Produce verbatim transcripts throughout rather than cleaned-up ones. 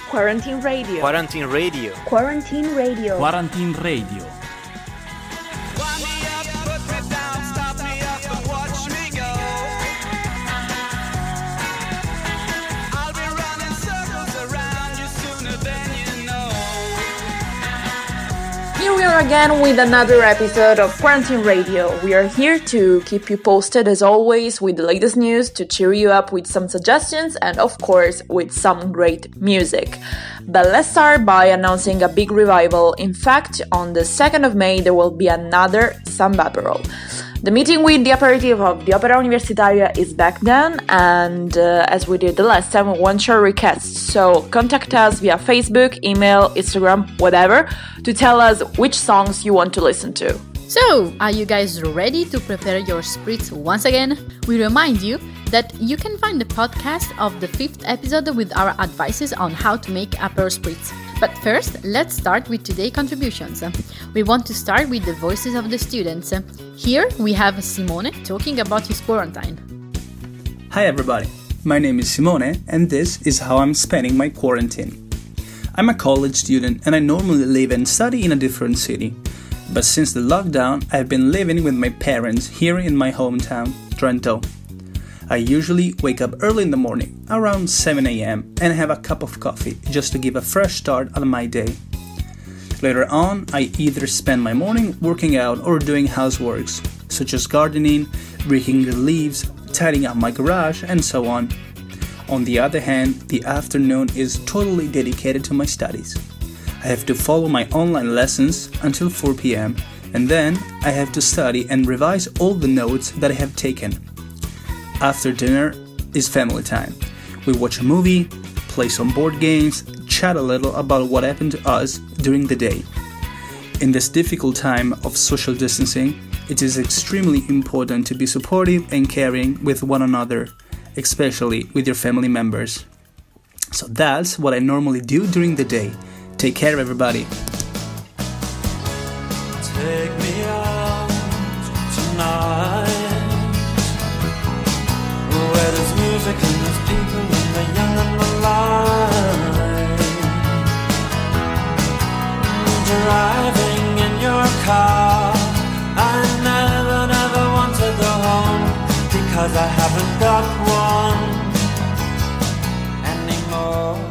Quarantine Radio. Quarantine Radio. Quarantine Radio. Quarantine Radio. Here we are again with another episode of Quarantine Radio. We are here to keep you posted as always with the latest news, to cheer you up with some suggestions and of course with some great music. But let's start by announcing a big revival. In fact, on the second of May there will be another Samba Aperol. The meeting with the aperitif of the Opera Universitaria is back then, and uh, as we did the last time, we want your requests. So contact us via Facebook, email, Instagram, whatever, to tell us which songs you want to listen to. So, are you guys ready to prepare your spritz once again? We remind you that you can find the podcast of the fifth episode with our advices on how to make Aperol spritz. But first, let's start with today's contributions. We want to start with the voices of the students. Here we have Simone talking about his quarantine. Hi everybody, my name is Simone and this is how I'm spending my quarantine. I'm a college student and I normally live and study in a different city. But since the lockdown, I've been living with my parents here in my hometown, Trento. I usually wake up early in the morning, around seven a.m., and have a cup of coffee just to give a fresh start on my day. Later on, I either spend my morning working out or doing houseworks, such as gardening, raking the leaves, tidying up my garage, and so on. On the other hand, the afternoon is totally dedicated to my studies. I have to follow my online lessons until four p.m., and then I have to study and revise all the notes that I have taken. After dinner is family time. We watch a movie, play some board games, chat a little about what happened to us during the day. In this difficult time of social distancing, it is extremely important to be supportive and caring with one another, especially with your family members. So that's what I normally do during the day. Take care, everybody. Take me out tonight, where there's music and there's people and the young and the light. Driving in your car, I never, never want to go home, because I haven't got one anymore.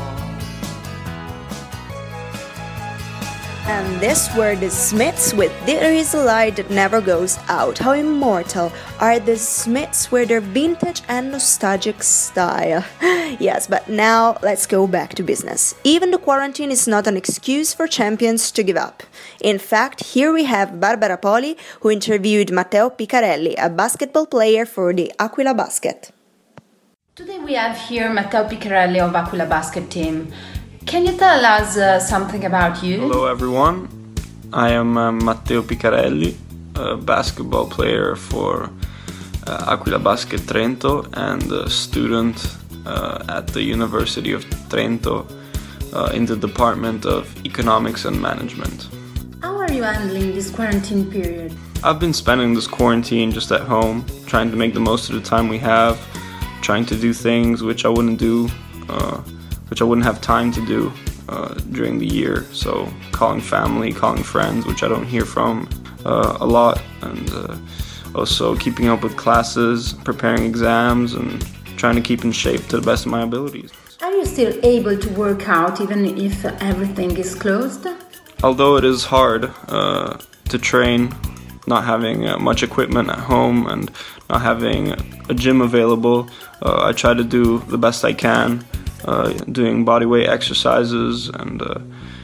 And this were the Smiths with There Is a Light That Never Goes Out. How immortal are the Smiths with their vintage and nostalgic style. Yes, but now let's go back to business. Even the quarantine is not an excuse for champions to give up. In fact, here we have Barbara Poli, who interviewed Matteo Picarelli, a basketball player for the Aquila Basket. Today we have here Matteo Picarelli of Aquila Basket team. Can you tell us uh, something about you? Hello everyone, I am uh, Matteo Picarelli, a basketball player for uh, Aquila Basket Trento and a student uh, at the University of Trento uh, in the Department of Economics and Management. How are you handling this quarantine period? I've been spending this quarantine just at home, trying to make the most of the time we have, trying to do things which I wouldn't do uh, which I wouldn't have time to do uh, during the year. So calling family, calling friends, which I don't hear from uh, a lot, and uh, also keeping up with classes, preparing exams, and trying to keep in shape to the best of my abilities. Are you still able to work out even if everything is closed? Although it is hard uh, to train, not having uh, much equipment at home and not having a gym available, uh, I try to do the best I can. Uh, doing bodyweight exercises and uh,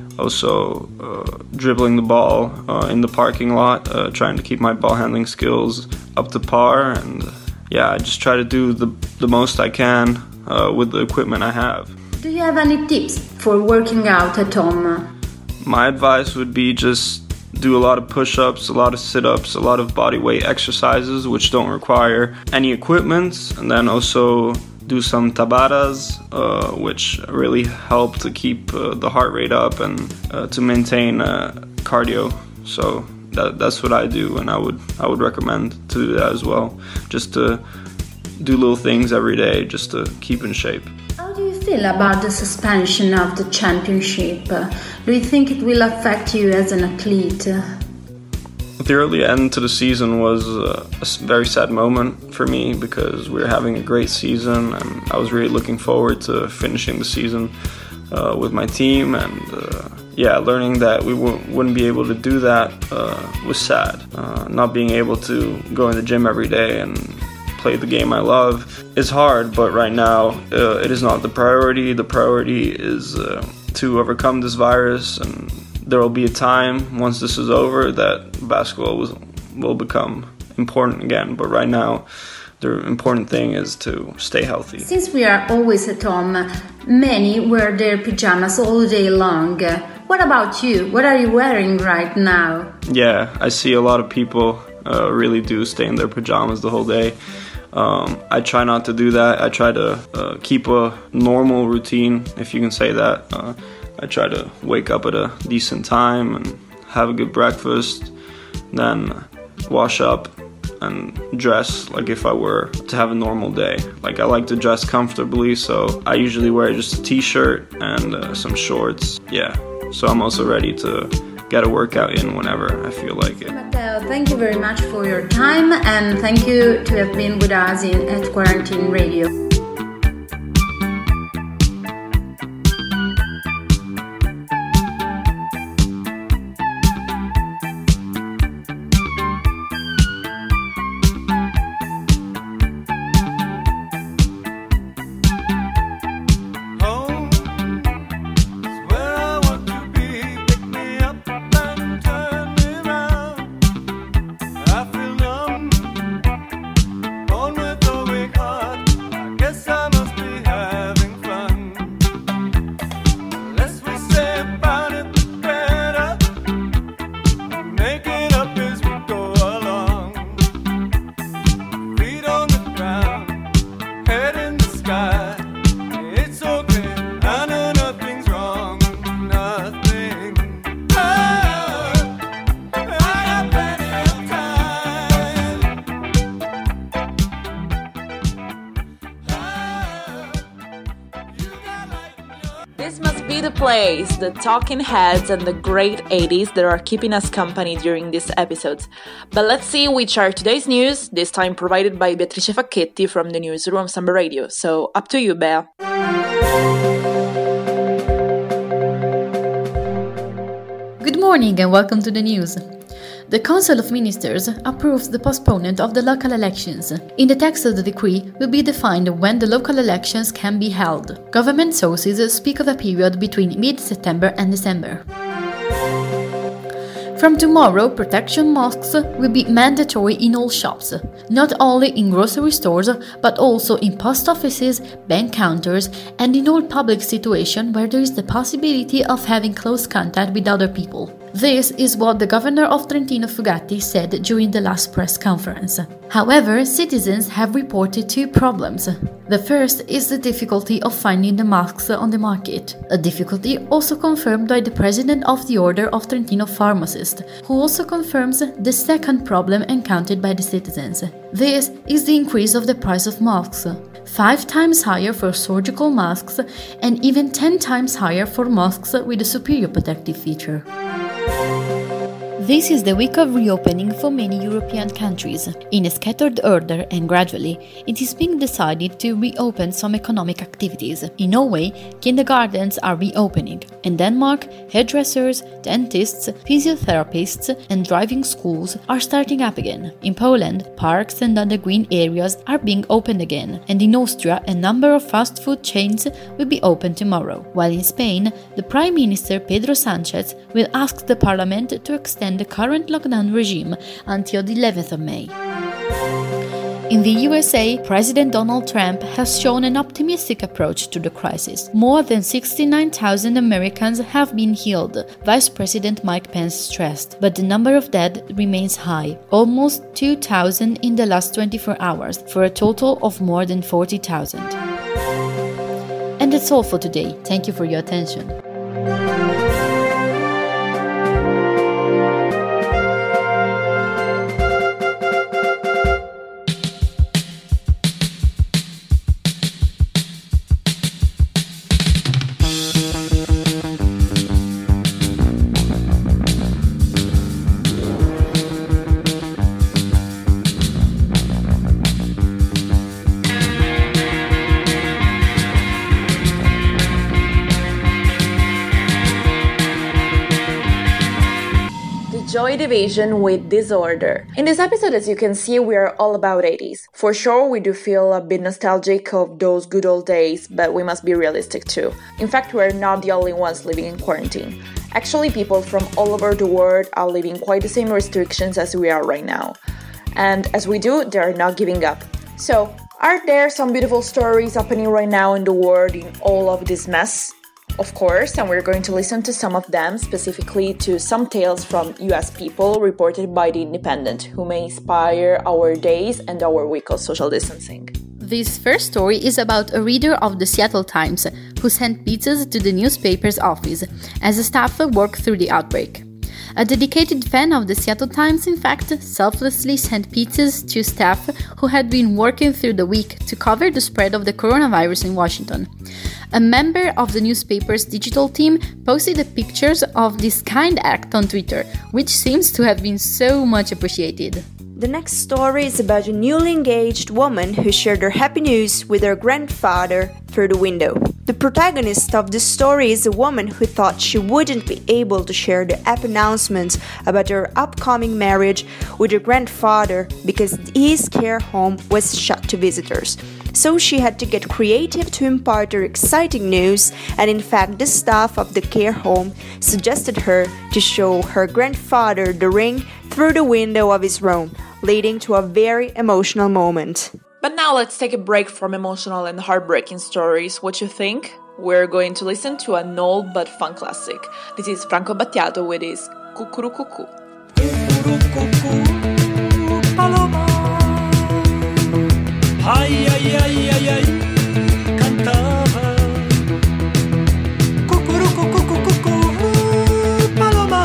also uh, dribbling the ball uh, in the parking lot, uh, trying to keep my ball handling skills up to par, and uh, yeah, I just try to do the, the most I can uh, with the equipment I have. Do you have any tips for working out at home? My advice would be just do a lot of push-ups, a lot of sit-ups, a lot of bodyweight exercises which don't require any equipment, and then also do some tabatas, uh, which really help to keep uh, the heart rate up and uh, to maintain uh, cardio. So that, that's what I do, and I would I would recommend to do that as well. Just to do little things every day, just to keep in shape. How do you feel about the suspension of the championship? Do you think it will affect you as an athlete? The early end to the season was uh, a very sad moment for me because we were having a great season and I was really looking forward to finishing the season uh, with my team, and uh, yeah, learning that we w- wouldn't be able to do that uh, was sad. Uh, not being able to go in the gym every day and play the game I love is hard, but right now uh, it is not the priority. The priority is uh, to overcome this virus, and there will be a time once this is over that basketball will, will become important again. But right now, the important thing is to stay healthy. Since we are always at home, many wear their pajamas all day long. What about you? What are you wearing right now? Yeah, I see a lot of people uh, really do stay in their pajamas the whole day. Um, I try not to do that. I try to uh, keep a normal routine, if you can say that. Uh, I try to wake up at a decent time and have a good breakfast, then wash up and dress like if I were to have a normal day. Like, I like to dress comfortably, so I usually wear just a t-shirt and uh, some shorts. Yeah, so I'm also ready to get a workout in whenever I feel like it. Matteo, thank you very much for your time, and thank you to have been with us in at Quarantine Radio. This must be the place, the talking heads and the great eighties that are keeping us company during these episodes. But let's see which are today's news, this time provided by Beatrice Facchetti from the newsroom of Samba Radio. So, up to you, Bea. Good morning and welcome to the news. The Council of Ministers approves the postponement of the local elections. In the text of the decree will be defined when the local elections can be held. Government sources speak of a period between mid-September and December. From tomorrow, protection masks will be mandatory in all shops, not only in grocery stores, but also in post offices, bank counters, and in all public situations where there is the possibility of having close contact with other people. This is what the governor of Trentino Fugatti said during the last press conference. However, citizens have reported two problems. The first is the difficulty of finding the masks on the market, a difficulty also confirmed by the president of the Order of Trentino Pharmacists, who also confirms the second problem encountered by the citizens. This is the increase of the price of masks, five times higher for surgical masks and even ten times higher for masks with a superior protective feature. This is the week of reopening for many European countries. In a scattered order and gradually, it is being decided to reopen some economic activities. In Norway, kindergartens are reopening. In Denmark, hairdressers, dentists, physiotherapists, and driving schools are starting up again. In Poland, parks and other green areas are being opened again. And in Austria, a number of fast food chains will be open tomorrow. While in Spain, the Prime Minister Pedro Sánchez will ask the Parliament to extend the current lockdown regime until the eleventh of May. In the U S A, President Donald Trump has shown an optimistic approach to the crisis. More than sixty-nine thousand Americans have been healed, Vice President Mike Pence stressed, but the number of dead remains high, almost two thousand in the last twenty-four hours, for a total of more than forty thousand. And that's all for today. Thank you for your attention. Joy Division with Disorder. In this episode, as you can see, we are all about eighties. For sure, we do feel a bit nostalgic of those good old days, but we must be realistic too. In fact, we're not the only ones living in quarantine. Actually, people from all over the world are living quite the same restrictions as we are right now. And as we do, they are not giving up. So, are there some beautiful stories happening right now in the world in all of this mess? Of course, and we're going to listen to some of them, specifically to some tales from U S people reported by The Independent, who may inspire our days and our week of social distancing. This first story is about a reader of the Seattle Times who sent pizzas to the newspaper's office as the staff worked through the outbreak. A dedicated fan of the Seattle Times, in fact, selflessly sent pizzas to staff who had been working through the week to cover the spread of the coronavirus in Washington. A member of the newspaper's digital team posted the pictures of this kind act on Twitter, which seems to have been so much appreciated. The next story is about a newly engaged woman who shared her happy news with her grandfather through the window. The protagonist of this story is a woman who thought she wouldn't be able to share the app announcements about her upcoming marriage with her grandfather because his care home was shut to visitors. So she had to get creative to impart her exciting news, and in fact the staff of the care home suggested her to show her grandfather the ring through the window of his room, leading to a very emotional moment. But now let's take a break from emotional and heartbreaking stories. What you think? We're going to listen to an old but fun classic. This is Franco Battiato with his Cucurucucu. Ai ai ai ai ai cantava Cucurucucucucucu Paloma.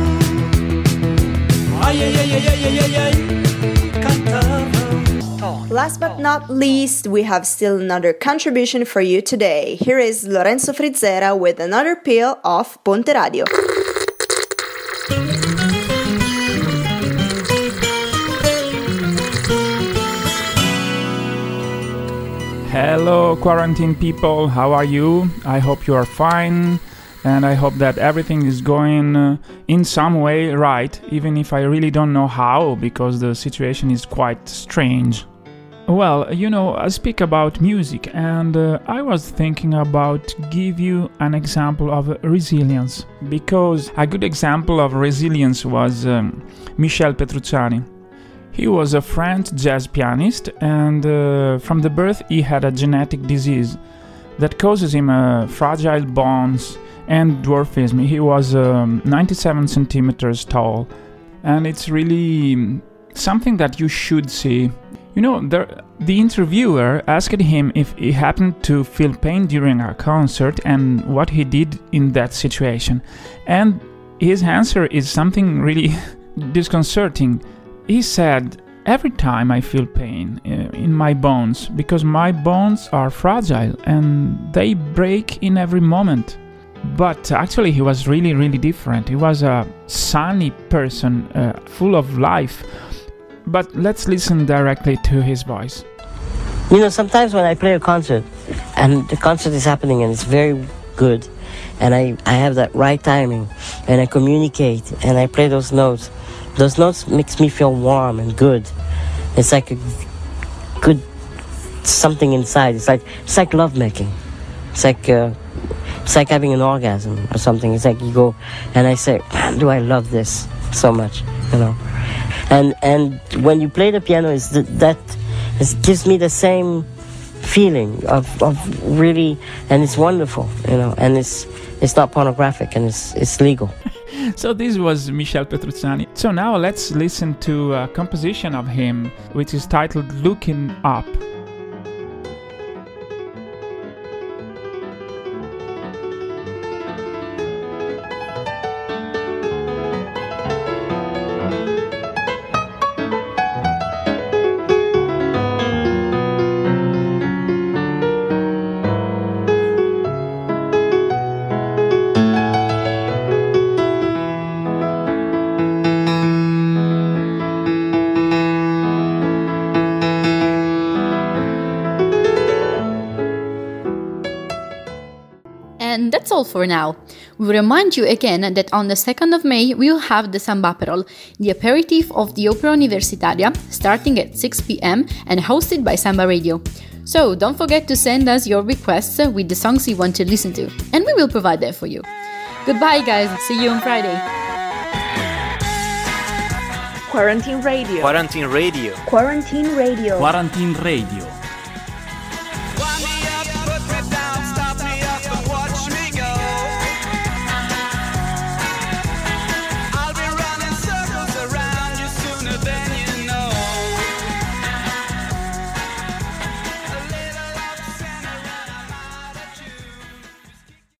Ai ai ai ai ai ai ai cantava. Last but not least, we have still another contribution for you today. Here is Lorenzo Frizzera with another peel of Ponte Radio. Hello quarantine people, how are you? I hope you are fine, and I hope that everything is going uh, in some way right, even if I really don't know how, because the situation is quite strange. Well, you know, I speak about music, and uh, I was thinking about give you an example of resilience, because a good example of resilience was um, Michel Petrucciani. He was a French jazz pianist, and uh, from the birth he had a genetic disease that causes him uh, fragile bones and dwarfism. He was um, ninety-seven centimeters tall, and it's really something that you should see. You know, there, the interviewer asked him if he happened to feel pain during a concert and what he did in that situation. And his answer is something really disconcerting. He said, "Every time I feel pain uh, in my bones, because my bones are fragile and they break in every moment." But actually he was really, really different. He was a sunny person, uh, full of life. But let's listen directly to his voice. You know, sometimes when I play a concert and the concert is happening and it's very good and I, I have that right timing and I communicate and I play those notes, those notes makes me feel warm and good. It's like a good something inside. It's like it's like love making. It's like uh, it's like having an orgasm or something. It's like you go and I say, man, do I love this so much, you know? And and when you play the piano, is that that it gives me the same feeling of, of really, and it's wonderful, you know, and it's it's not pornographic and it's it's legal. So this was Michel Petrucciani. So now let's listen to a composition of him, which is titled Looking Up. that's all for now. We remind you again that on the second of May we will have the Samba Aperol, the aperitif of the Opera Universitaria, starting at six p.m. and hosted by Samba Radio. So don't forget to send us your requests with the songs you want to listen to, and we will provide them for you. Goodbye guys, see you on Friday. Quarantine Radio. Quarantine Radio. Quarantine Radio. Quarantine Radio.